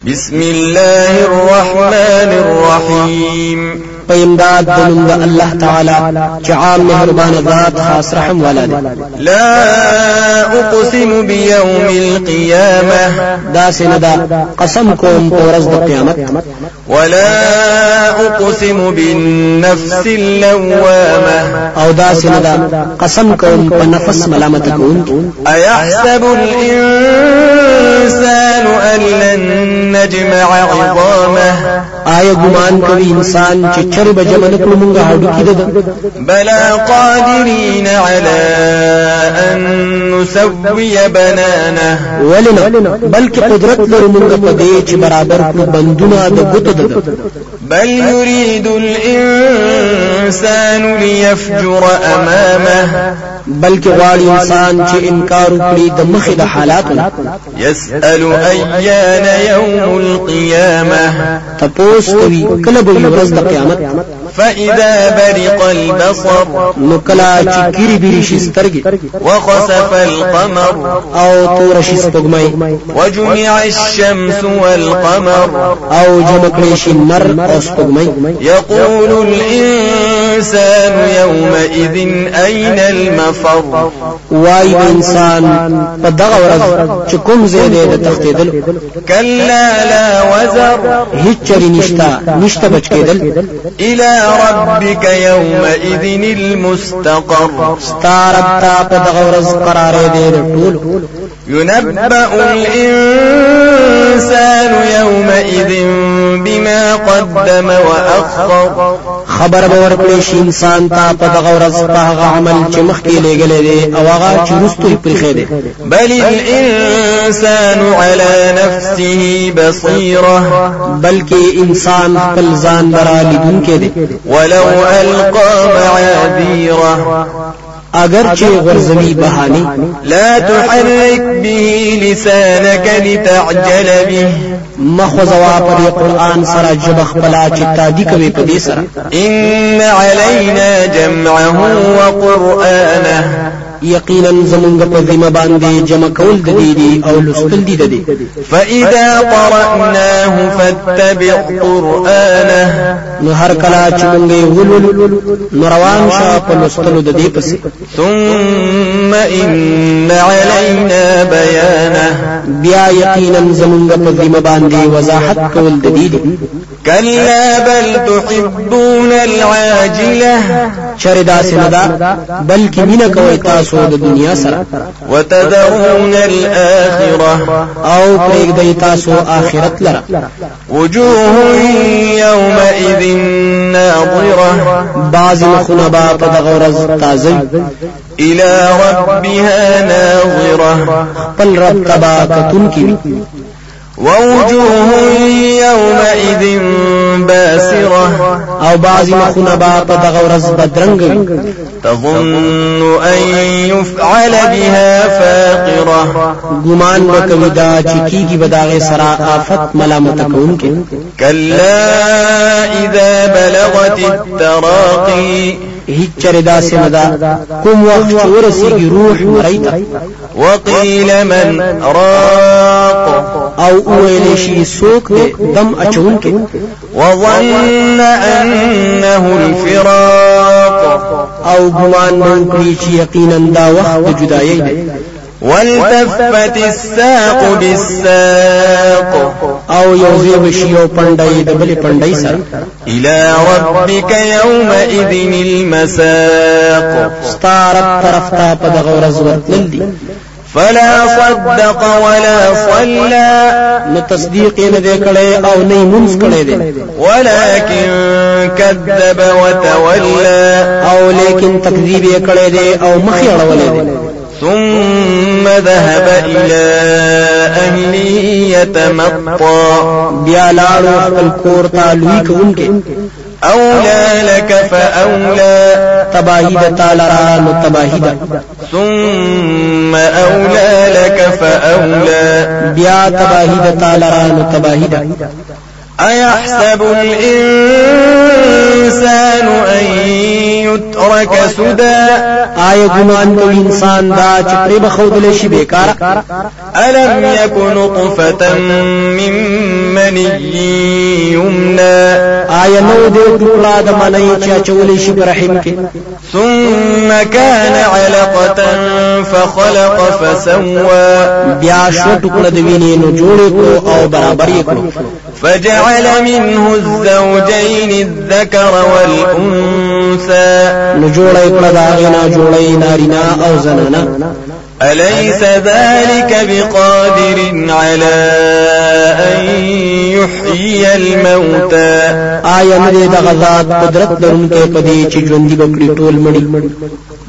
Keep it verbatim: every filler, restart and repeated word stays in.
بسم الله الرحمن الرحيم پیمداد دنم دا اللہ تعالی چعام مہربان ذات خاص رحم والا دے. لا اقسم بيوم القيامة دا سندا قسم کوم پورز دا قیامت. ولا اقسم بالنفس اللوامة او دا سندا قسم کوم پا نفس ملامت کون. ايحسب الانسان ان لن نجمع عظامه آیا گمان کوي انسان چې چر به جمع نکړو مونږه هډو کې ده. بلا قادرين على ان نسوي بنانه ولنا بلکې قدرت لرو مونږه په دې چې برابر کړو بندونه د ګوتو ده. بل يريد الانسان ليفجر امامه بلکې غواړي انسان چې انکار وکړي د مخې د حالاتو. يسأل ايان يوم القيامة تپوس کوي کله به ورځ د قیامت. فإذا برق البصر نو کله چې ګری بری شي سترګې وخسف القمر او تور شي سپوږمۍ وجمع الشمس والقمر او جمع کړي شي نر او سپوږمۍ. يقول الإنسان يومئذ أين المفر وای انسان په دغه ورځ چې کوم ځای دی د تختیدل. كلا لا وزر هیڅ چری نشتا نشتا بچ کېدل. إلى ربك يومئذ المستقر ستارب تا په دغه ورځ قرار دی ټول. ينبأ الإنسان يومئذ بما قدم وأخر خبر به ورکړي شي انسان ته په دغه ورځ په هغه عمل چې مخکې لګلې دی او هغه چې وروسته یې پرېښی دی. بل الإنسان على نفسه بصيرة بلکې انسان خپل ځان لره لیدونکی دی. ولو ألقى معاذيره اگر چې غرزوی بهاني. لا تحرك به لسانك لتعجل به مخوزوا پر قرآن سره جب خپلا چې تادی کوي په دې سره. إن علينا جمعه وقرآنه یقینا زمونږ په ذمہ باندې جمع کول د دې او لوستل دي د دې. فإذا قرأناه فاتبع قرآنه نو هر کله چې مونږ ولول نو روان شه په لوستلو د دې پسې. ثم إن علينا بيانه بیا یقینا زمونږ په ذمہ باندې وضاحت کول د دې. كلا بل تحبون العاجلة شردا سندا بلکې مینا کوي تاسو د دنیا سره. وتذرون الآخرة او پرېږدئ تاسو آخرت لره. وجوه يومئذ ناظرة بعض مخونه به په دغه ورځ تازه إلى ربها ناظرة خپل رب تبا کتونکي. ووجوه يومئذ باسرة او بعض مخونه با په دغه ورځ بدرنګ تظن أن يفعل بها فاقرة ګمان وکوي دا چې کیږي بداغه سره آفت ملامت کوونکې. كلا إذا بلغت التراقي هیڅ چردا سندا کوم وخت ورسیږي روح مریتا. وقيل من راق او اویل شي سوک دم اچونکې. وظن أنه الفراق او ګمان وکړي چې یقینا دا وخت د جدایۍ دی. والتفت الساق بالساق او یوځي بشي او پندای د بل پندای سره. الى ربك يومئذ المساق ستارب طرف ته په دغه ورځ ورتلل دي. فلا صدق ولا صلى نو تصدیق نه دی کړي او نه منځ کړي دي. ولكن كذب وتولى او لیکن تکذیب یې کړي دي او مخ یې اړولې دي. ثم ذهب إلى أهله يتمطى بیا لاړو خپل کور ته لوی کوونکې. أولى لك فأولى تباهی د تعالی را نو تباهی ده. ثم أولى لك فأولى بیا تباهی د تعالی را نو تباهی ده. أيحسب الإنسان أن يترك سدى آیا ګمان کوي انسان دا چې پرې بخودل شي بیکاره ألم يكن نطفة من مني يمنى آیا نو دې ټوکړه د منی چې اچولې شي په رحم کې ثم كان علقة فخلق فسوى بیا شو ټوکړه د وینې نو جوړې کړو او برابر یې کړو فجعل منه الزوجين الذكر والأنثى نو جوړې کړه دا غنا جوړې نارینه او زنانه أليس ذلك بقادر على أن يحيي الموتى آیا نه د غزاد قدرت لرونکي پدې چې ژوندۍ بکړي ټول مړي